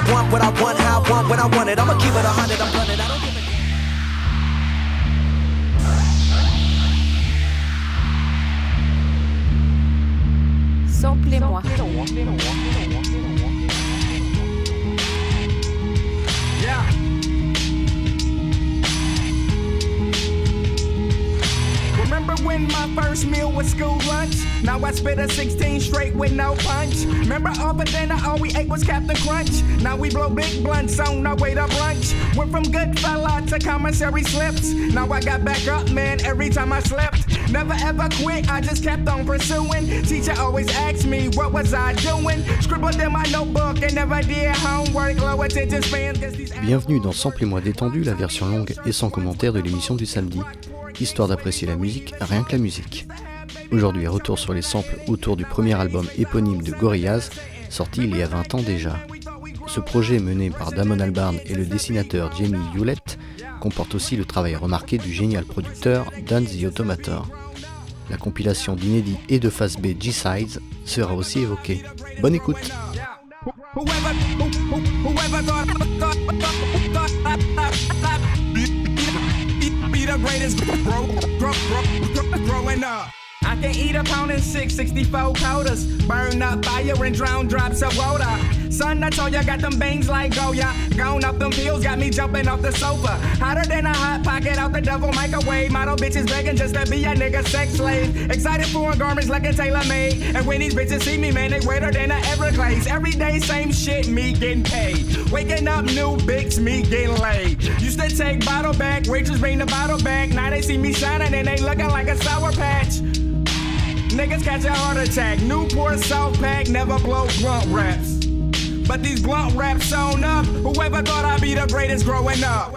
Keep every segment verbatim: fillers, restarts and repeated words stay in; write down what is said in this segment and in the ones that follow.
want what I want, how I want, when I want it. I'ma keep it a hundred, I'm running. I don't give a Samplez-moi. Yeah. Remember when my first meal was school lunch? Now I spit a sixteen straight with no punch. Remember all the dinner all we ate was Captain Crunch? Now we blow big blunts on our way to brunch. Went from good fella to commissary slips. Now I got back up, man, every time I slept. Never ever quit, I just kept on pursuing. Teacher always asked me, what was I doing? Scribbled in my notebook and never did homework. Low attention spans, cause these... Bienvenue dans Samplez-moi détendu, la version longue et sans commentaire de l'émission du samedi, histoire d'apprécier la musique, rien que la musique. Aujourd'hui, retour sur les samples autour du premier album éponyme de Gorillaz, sorti il y a vingt ans déjà. Ce projet mené par Damon Albarn et le dessinateur Jamie Hewlett comporte aussi le travail remarqué du génial producteur Dan the Automator. La compilation d'inédits et de face B G-Sides sera aussi évoquée. Bonne écoute! Whoever, who, who, whoever thought, thought, thought, thought be the greatest grow, grow, grow, growing up. I can eat a pound and six, sixty-four quarters. Burn up fire and drown drops of water. Son, I told ya, got them bangs like Goya. Gone up them pills, got me jumping off the sofa. Hotter than a hot pocket out the devil microwave. Model bitches begging just to be a nigga sex slave. Excited for garments like a tailor made. And when these bitches see me, man, they wetter than a Everglades. Every day, same shit, me getting paid. Waking up, new bitch, me getting laid. Used to take bottle back, waitress bring the bottle back. Now they see me shining and they looking like a sour patch. Niggas catch a heart attack. Newport South Pack never blow blunt raps. But these blunt raps sewn up. Whoever thought I'd be the greatest growing up?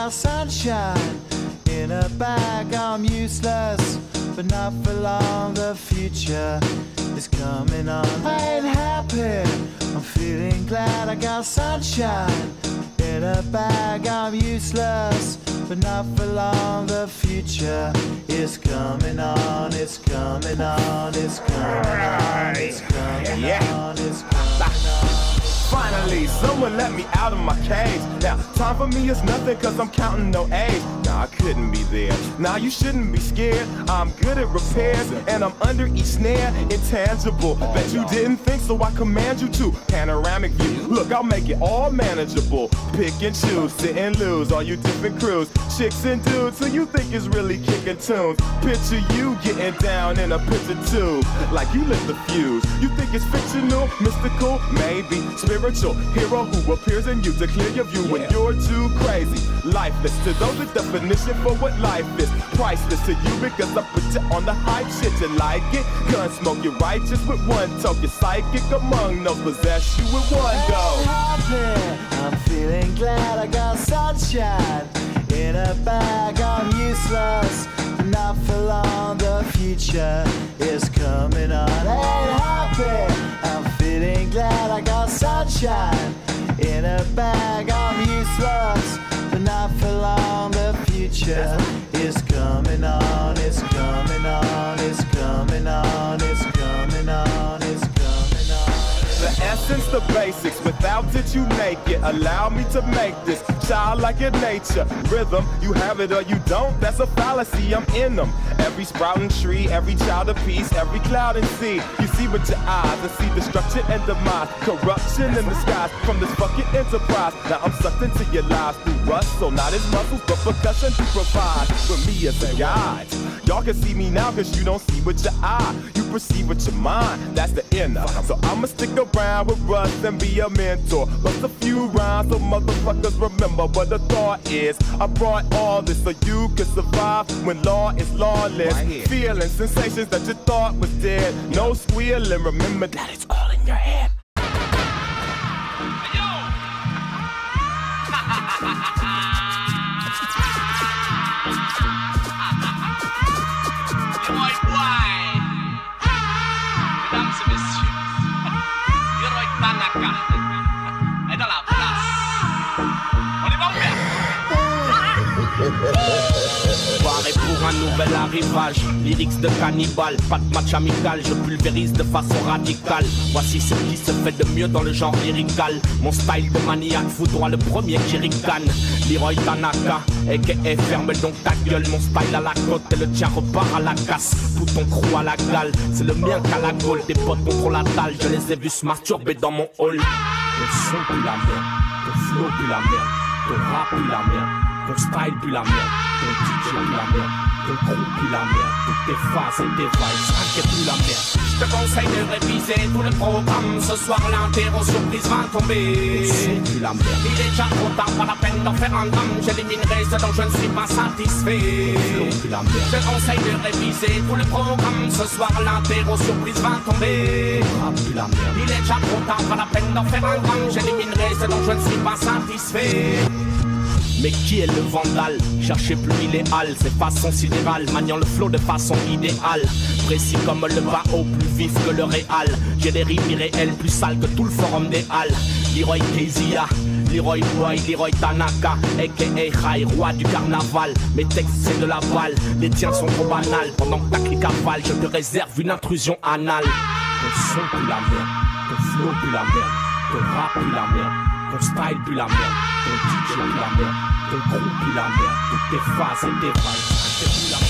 got sunshine in a bag. I'm useless, but not for long. The future is coming on. I ain't happy, I'm feeling glad. I got sunshine in a bag. I'm useless, but not for long. The future is coming on. It's coming on. It's coming on. It's coming yeah. on. It's coming on. Finally, someone let me out of my cage. Now, time for me is nothing cause I'm counting no age. Nah, I couldn't be there. Nah, you shouldn't be scared. I'm good at repairs and I'm under each snare. Intangible, bet you didn't think, so I command you to. Panoramic view, look, I'll make it all manageable. Pick and choose, sit and lose, all you different crews. Chicks and dudes who you think is really kicking tunes. Picture you getting down in a picture tube, like you lit the fuse. You think it's fictional, mystical, maybe spiritual hero who appears in you to clear your view when you're too crazy. Lifeless to those, the definition for what life is. Priceless to you because I put you on the hype shit. You like it? Gun smoke, you're righteous with one toke. You're psychic among no possess you with one go. Happy, I'm feeling glad. I got sunshine in a bag. I'm useless, not for long. The future is coming on. I ain't happy, I'm feeling glad. I got sunshine in a bag. I'm useless, but not for long. The future is coming on. It's coming on. It's coming on. It's coming on. It's coming on. The essence, the basics, without it you make it. Allow me to make this childlike in nature. Rhythm, you have it or you don't, that's a fallacy, I'm in them. Every sprouting tree, every child of peace, every cloud and sea. You see with your eyes and see destruction and demise. Corruption in the skies from this fucking enterprise. Now I'm sucked into your lives through rust, so not as muscles, but percussion to provide for me as a guide. Y'all can see me now cause you don't see with your eye. You perceive with your mind, that's the inner. So I'ma stick around with Russ and be a mentor. Bust a few rhymes so motherfuckers remember what the thought is. I brought all this so you can survive when law is lawless. Right, feeling sensations that you thought was dead. No squealing, remember that it's all in your head. Est dans la place. On y va ou bien? Soirée pour un nouvel arrivage. Lyrics de cannibale, pas de match amical. Je pulvérise de façon radicale. Voici ce qui se fait de mieux dans le genre lyrical. Mon style de maniaque foudroie le premier qui ricane. Leroy Tanaka, aka ferme donc ta gueule. Mon style à la côte et le tien repart à la casse. Tout ton crew à la gale, c'est le mien qu'à la gaule. Des potes contre la dalle, je les ai vus se masturber dans mon hall. Ton son pue la merde, ton flow pue la merde, ton rap pue la merde, ton style pue la merde, ton D J pue la merde, ton crew pue la merde, toutes tes phases et tes vibes, ça pue la merde. Je te conseille de réviser tout le programme. Ce soir l'interro surprise va tomber. Pue la merde. Il est déjà trop tard, pas la peine d'en faire un drame. J'éliminerai ce dont je ne suis pas satisfait. Pue la merde. Je te conseille de réviser tout le programme. Ce soir l'interro surprise va tomber. Pue la merde. Il est déjà trop tard, pas la peine d'en faire un drame. J'éliminerai ce dont je ne suis pas satisfait. Mais qui est le vandale? Cherchez plus idéal, c'est façon sidérale, maniant le flow de façon idéale. Précis comme le Bao, plus vif que le réal. J'ai des rimes irréelles, plus sales que tout le forum des halles. Leroy Kezia, Leroy Boy, Leroy Tanaka, aka High, roi du carnaval. Mes textes c'est de la balle, les tiens sont trop banals. Pendant que ta clique avale, je te réserve une intrusion anale. Ton son pue la merde, ton flow pue la merde, ton rap pue la merde, ton style pue la merde, ton D J pue la merde, ton crew pue la merde, toutes tes phases et tes vibes, ça pue la merde.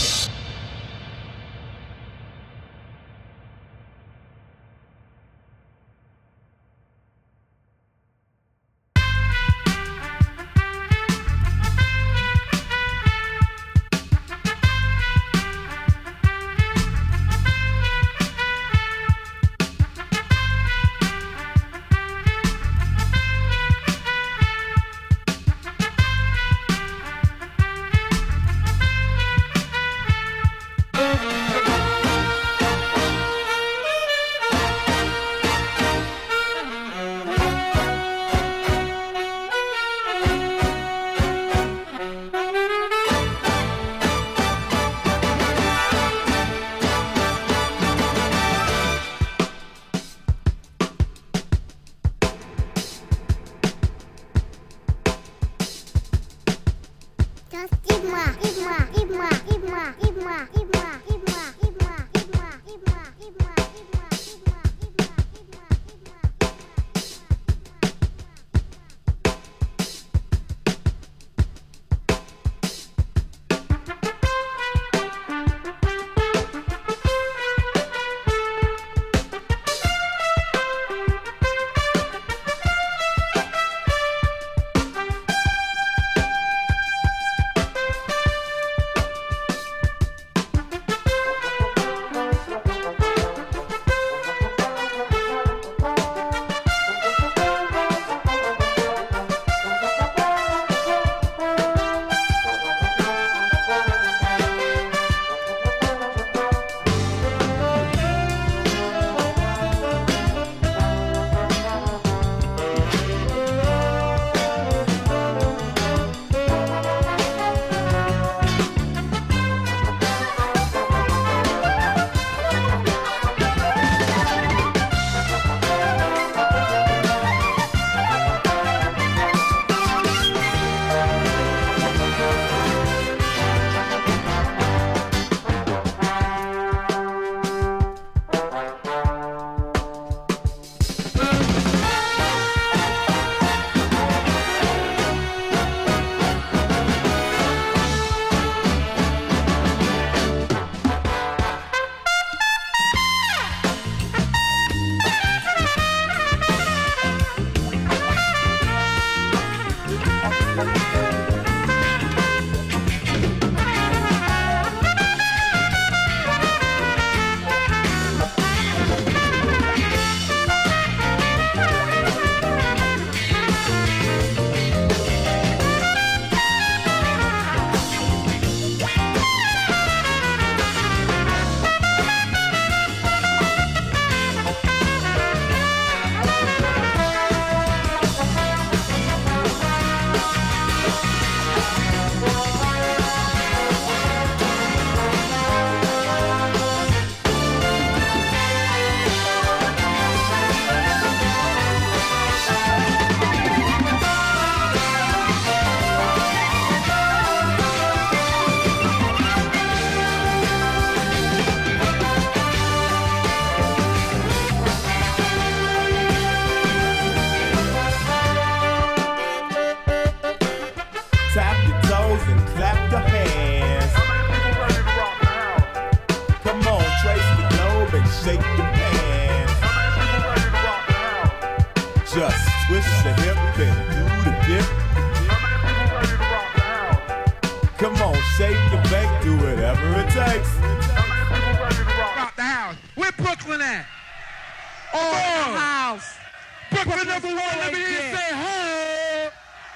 shake and bake, do whatever it takes. Rock the house. Where Brooklyn at? Oh, the house. Brooklyn, Brooklyn number one. Let me hear you say ho.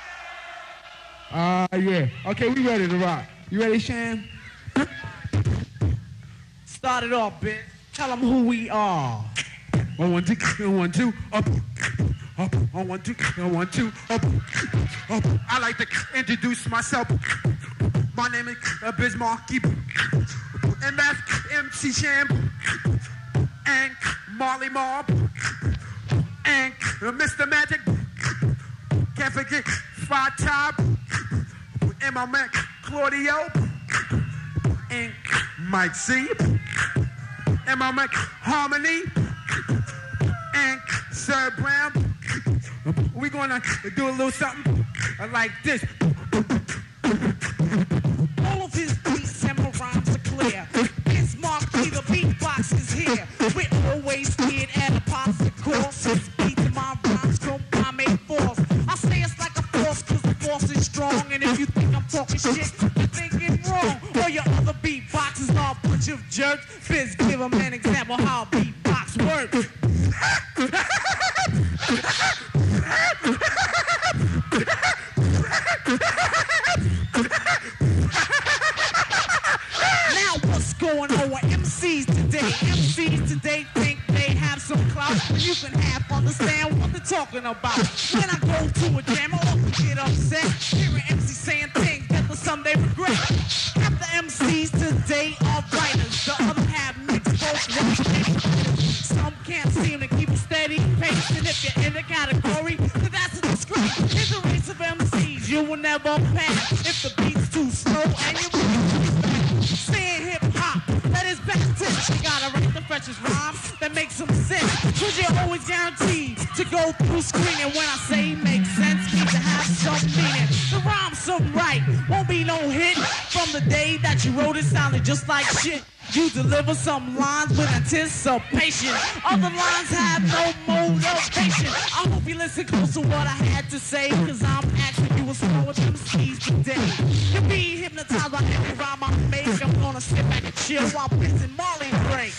Ah, uh, yeah. Okay, we ready to rock. You ready, Sham? Start it off, bitch. Tell them who we are. One, one, two, one, two, up, up, on one, two, one, two, up, up. I like to introduce myself. My name is Biz Markie, M F, M C Sham, and Marley Mob, and Mister Magic. Can't forget Five Top, and my man Claudio, and Mike C, and my man Harmony, and Sir Brown. We're gonna do a little something like this. All of his beats and my rhymes are clear. It's Marky, the beatbox is here. We're always scared at a popsicle. Since beats and my rhymes come by make force. I say it's like a force cause the force is strong. And if you think I'm talking shit, you're thinking wrong. All your other beatboxers are a bunch of jerks. Biz, give them an example how a beatbox works. Now what's going on with M Cs today? M Cs today think they have some clout. You can half understand what they're talking about. When I go to a jam, I often get upset hearing M Cs saying things that for some they regret. Half the M Cs today are writers, the other half mixed both. Some can't seem to keep a steady pace, and if you're in the category, then that's a disgrace. It's a race of M Cs you will never pass if the beat's too slow and you saying hip hop, that is best tense. You gotta write the freshest rhymes that make some sense. Cause you're always guaranteed to go through screening. When I say make sense, need to have some meaning. The rhyme's some right, won't be no hit. From the day that you wrote it, sounded just like shit. You deliver some lines with anticipation. Other lines have no motivation. I hope you listen close to what I had to say, cause I'm asking you what's wrong with M Cs today. You'll be hypnotized by every rhyme I make. I'm gonna sit back and chill while Biz and Marley break.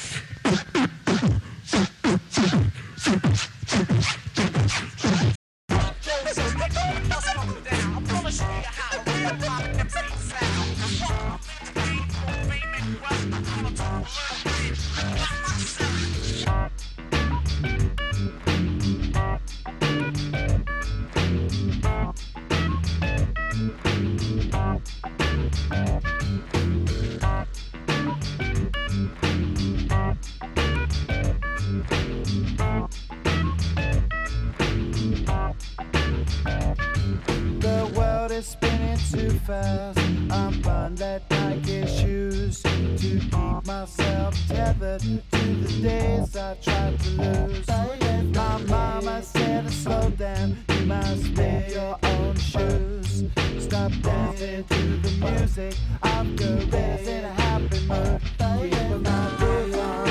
I'm gonna show you how a real pop M C sound. The world is spinning too fast. I'm bound that Nike shoes to keep myself tethered to the days I tried to lose. My mama said to slow down, you must make your own shoes. Stop dancing to the music of gorillas in a happy mood. Keep my groove on.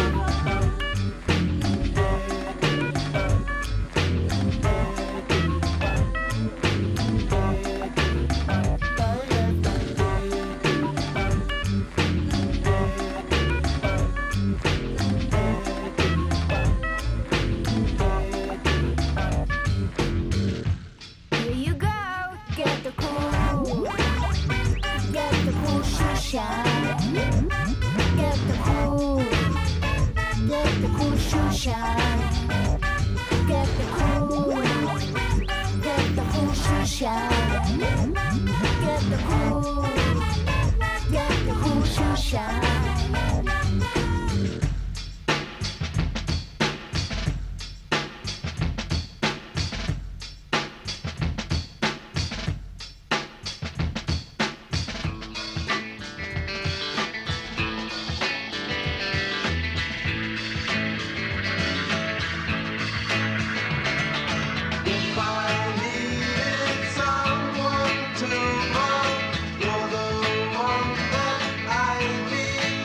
Someone to love, you're the one that I need.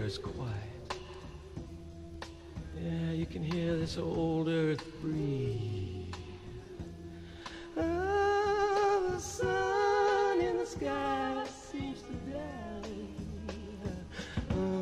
is quiet. Yeah, you can hear this old earth breathe. Oh, the sun in the sky seems to die. Oh.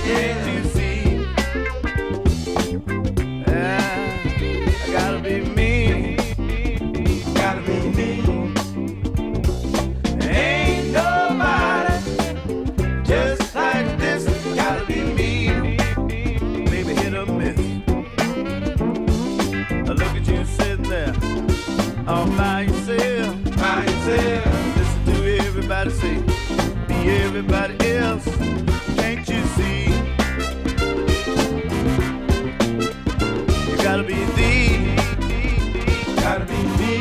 Can't you see? Yeah, I gotta be me. Gotta be me. Ain't nobody just like this. Gotta be me. Maybe hit or miss. I look at you sitting there all by yourself, by yourself. Listen to everybody say, be everybody else. Can't you see? You gotta be the, gotta be me.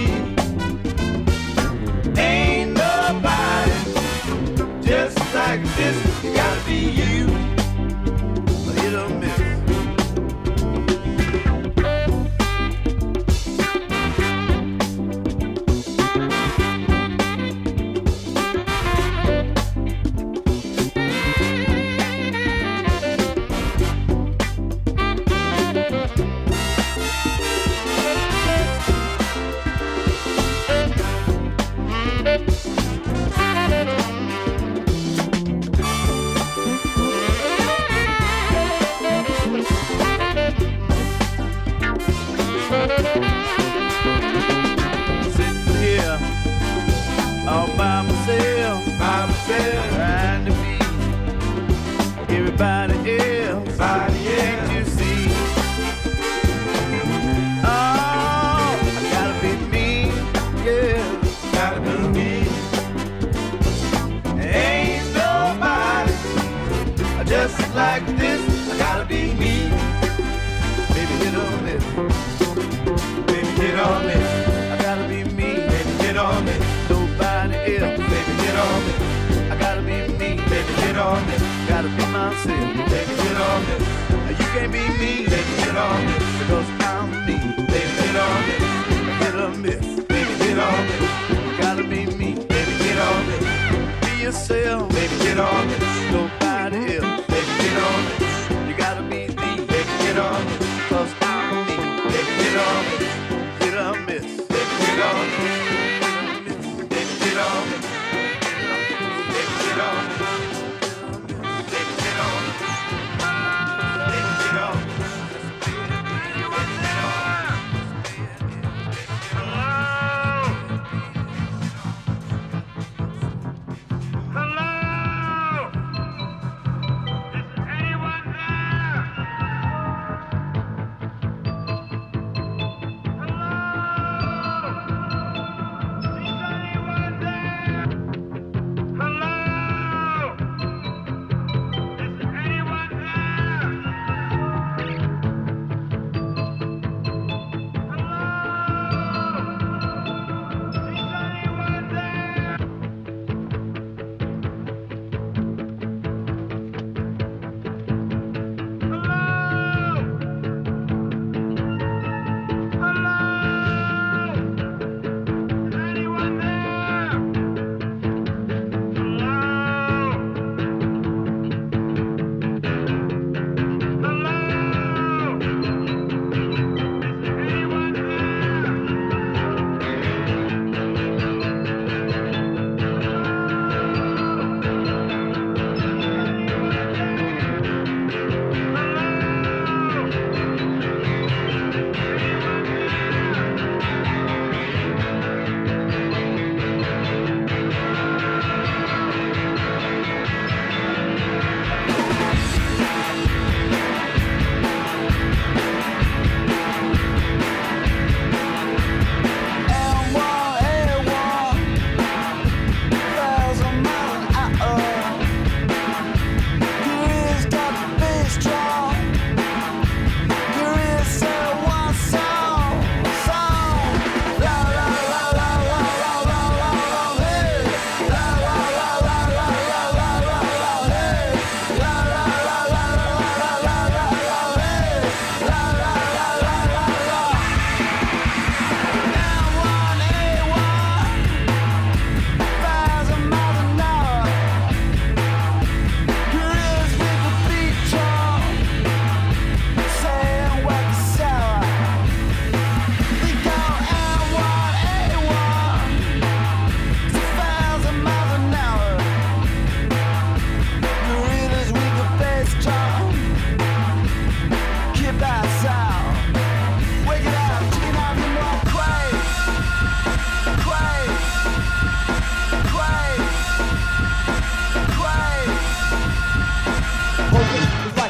Ain't nobody just like this. You gotta be you. Hit or miss. Sitting here all by myself, by myself, trying to be everybody else. Can't you see? Oh, I gotta be me, yeah, gotta be me. Ain't nobody just like this. I gotta be me. Baby, hit on this. Baby, hit on me. I gotta be me. Baby, hit on me. Nobody else. Baby, hit on me. I gotta be me. Baby, hit on me. Gotta be myself. Baby, hit on me. You can't be me. Baby, hit on me. Because I'm me. Baby, hit on me. Hit or miss. Baby, hit on me. You gotta be me. Baby, hit on me. Be yourself. Baby, hit on me. Nobody else. Baby, hit on me. You gotta be the. Baby, hit on me. Because I'm me. Baby, hit on me. Hit or miss. Baby, hit on me. Baby, hit on me. Baby, hit on me. Baby, hit on me. Baby, hit on me.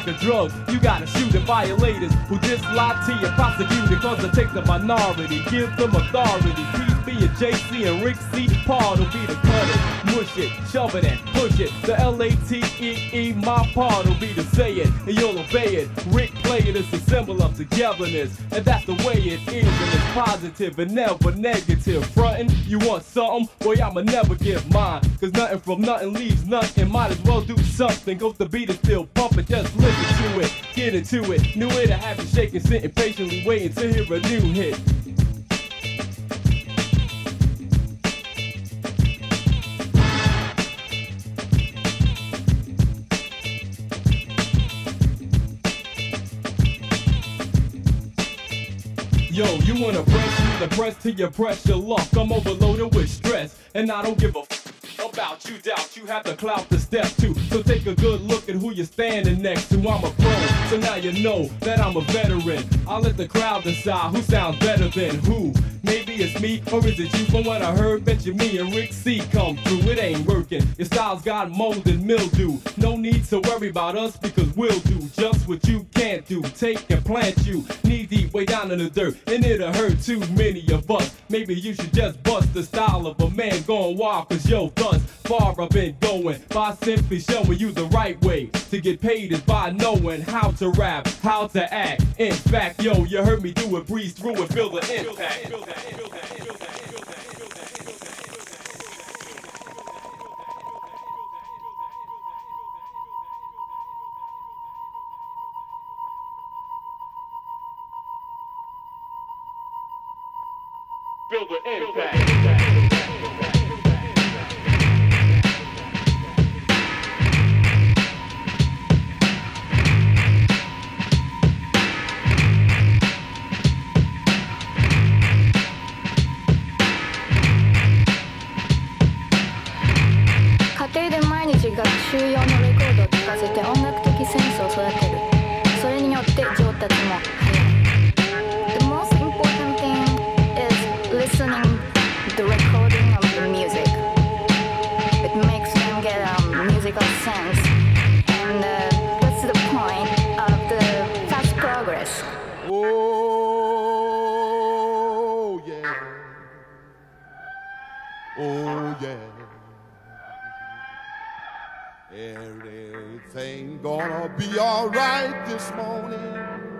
like a drug. You gotta shoot at violators who dislike to you, prosecuted cause they take the minority, give them authority. P B and J C and Rick C. Paul will be the cutter, mush it, shove it and push it. The L A T E E, my part will be to say it, and you'll obey it. Rick play it as a symbol of togetherness, and that's the way it is, and it's positive and never negative. Frontin', you want something? Boy, I'ma never give mine, cause nothing from nothing leaves nothing. Might as well do something, cause the beat is still pumping. Just listen to it, get into it. New way to have you shaking, sitting patiently waiting to hear a new hit. Yo, you wanna press me, the press till you press your luck. I'm overloaded with stress, and I don't give a f about you, doubt you have the clout to step to. So take a good look at who you're standing next to. I'm a pro, so now you know that I'm a veteran. I'll let the crowd decide who sounds better than who. Maybe it's me, or is it you? From what I heard, bet you me and Rick C come through. It ain't working, your style's got mold and mildew. No need to worry about us, because we'll do just what you can't do. Take and plant you, knee deep way down in the dirt, and it'll hurt too many of us. Maybe you should just bust the style of a man going wild, cause yo, thus far I've been going by simply showing you the right way to get paid is by knowing how to rap, how to act. In fact, yo, you heard me do it, breeze through and feel the impact. Feel the impact. 家庭で毎日学習用のレコードを聴かせて音楽的センスを育てる。それによって上達も早い。The most important thing is listening the recording of the music. It makes them get a musical sense, and uh, that's the point of the fast progress. Oh yeah, oh yeah. Everything gonna be alright this morning.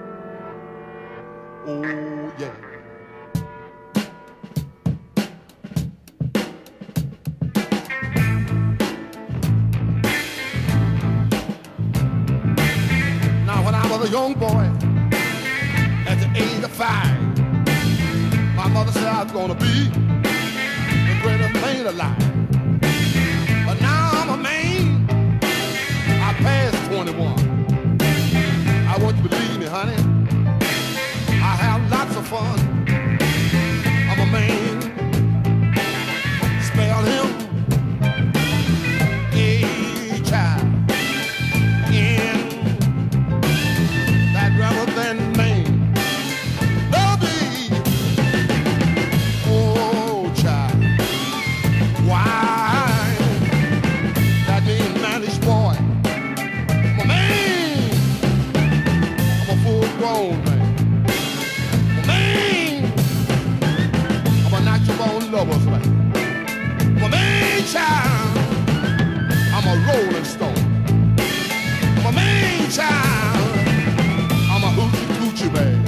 Oh yeah. Now when I was a young boy, at the age of five, my mother said I was gonna be the greatest man alive. But now I'm a man, I passed twenty-one. I want you to believe me, honey, I have lots of fun. I'm a man, spell him H I N, that rather than man. Baby, oh child, why that mean manish boy? I'm a man, I'm a full grown man. I'm a natural born lover's man. I'm a man child, I'm a rolling stone. I'm a man child, I'm a hoochie coochie man.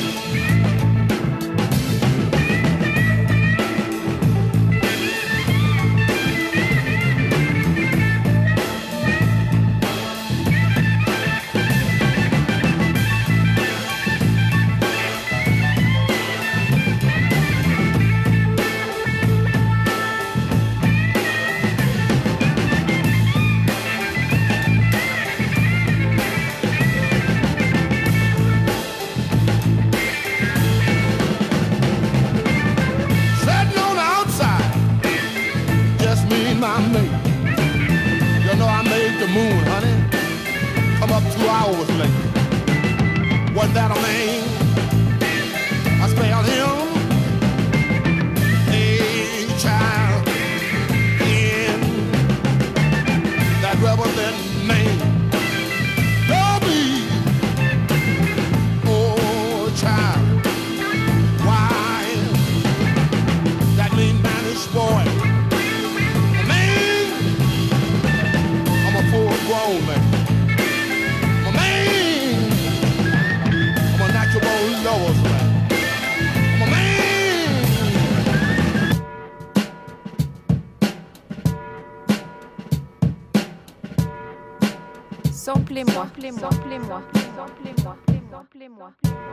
My mate, you know I made the moon, honey, come up two hours late. Wasn't that a man? I spelled him H I N, that rebel then man. Don't be Samplez-moi, samplez-moi, samplez-moi, samplez-moi, samplez-moi.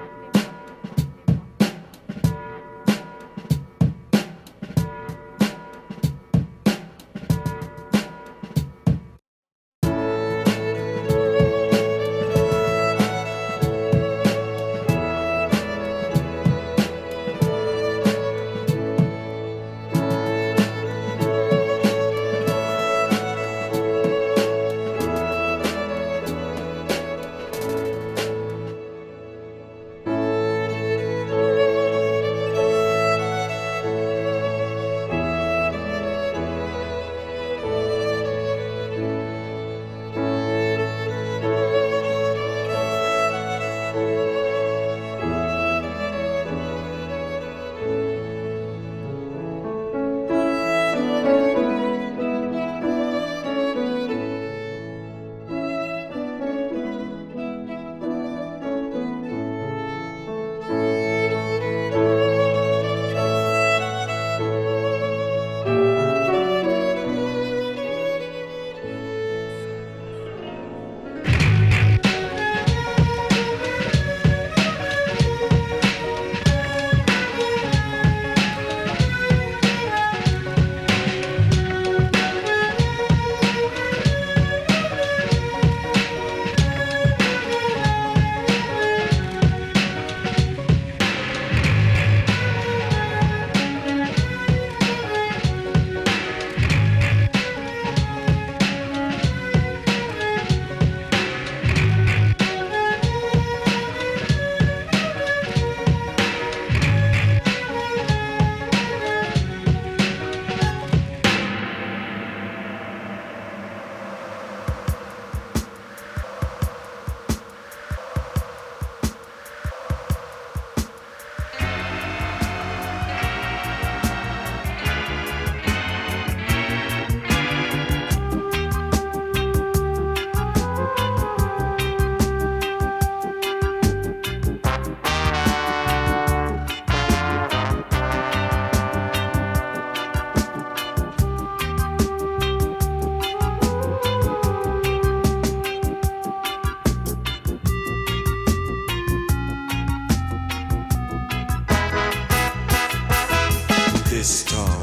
This storm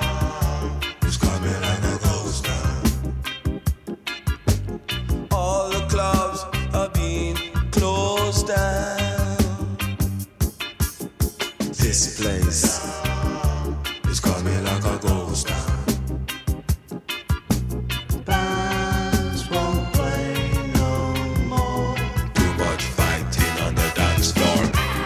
is coming like a ghost town. All the clubs are being closed down. This place is coming like a ghost town. Bands won't play no more. Too much fighting on the dance floor.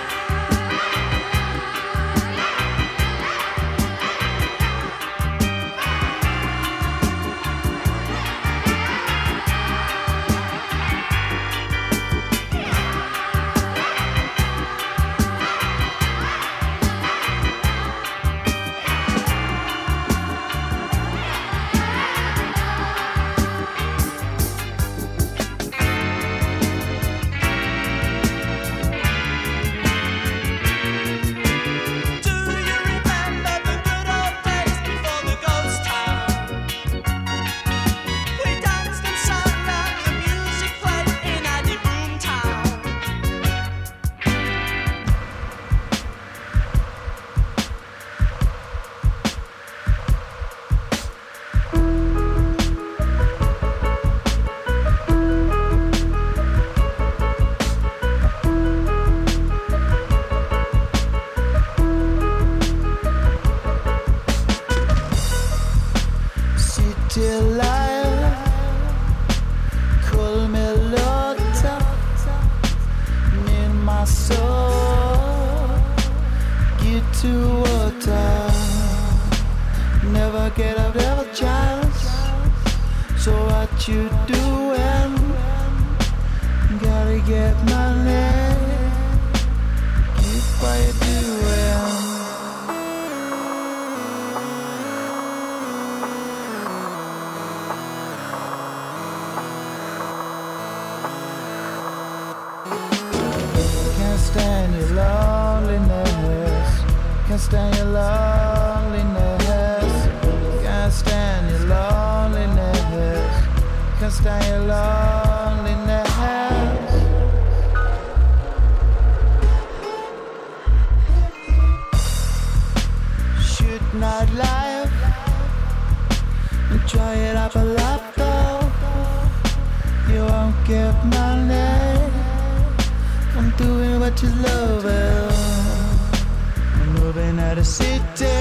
You doing? Gotta get money. Keep what you doing. Can't stand your loneliness. Can't stand your loneliness. Can't stand your loneliness. Can't stand your loneliness. get money from doing what you love. I'm moving out of city,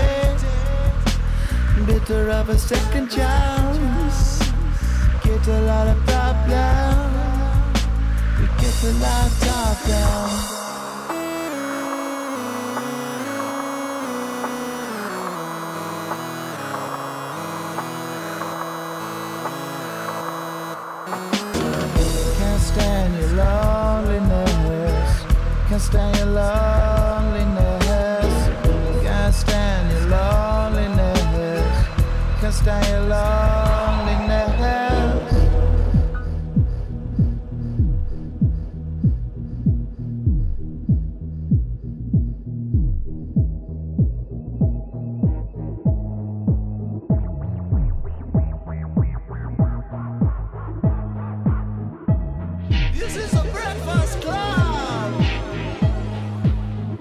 bitter of a second chance. Get a lot of problems, we get a lot of talk down. Stand your loneliness, can't stand your loneliness, can't stand your loneliness, can't stand your loneliness. This is a breakfast club.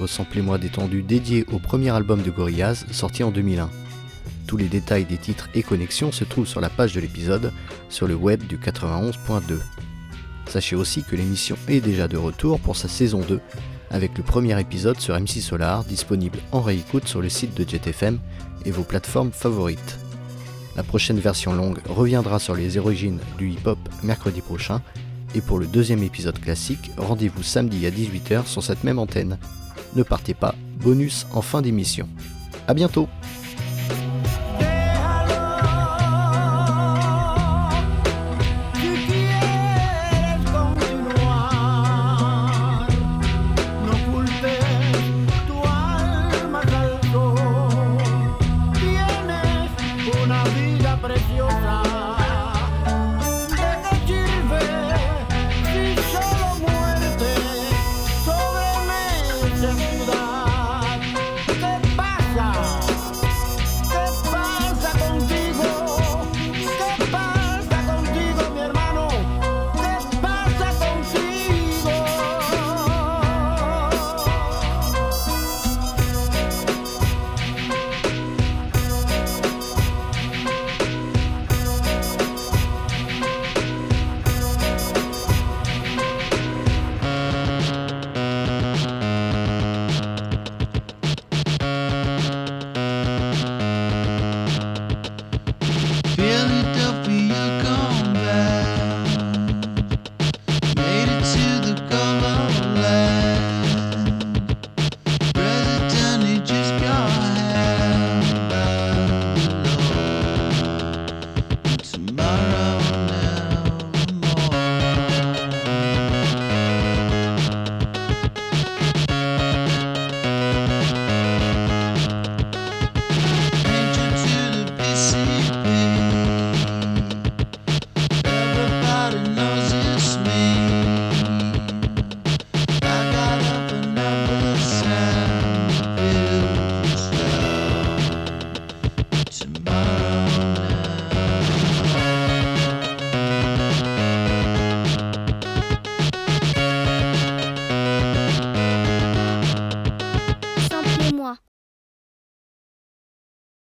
Samplez-moi détendu dédié au premier album de Gorillaz sorti en deux mille un. Tous les détails des titres et connexions se trouvent sur la page de l'épisode sur le web du quatre-vingt-onze point deux. Sachez aussi que l'émission est déjà de retour pour sa saison deux avec le premier épisode sur M C Solar disponible en réécoute sur le site de Jet F M et vos plateformes favorites. La prochaine version longue reviendra sur les origines du hip-hop mercredi prochain et pour le deuxième épisode classique, rendez-vous samedi à dix-huit heures sur cette même antenne. Ne partez pas, bonus en fin d'émission. A bientôt!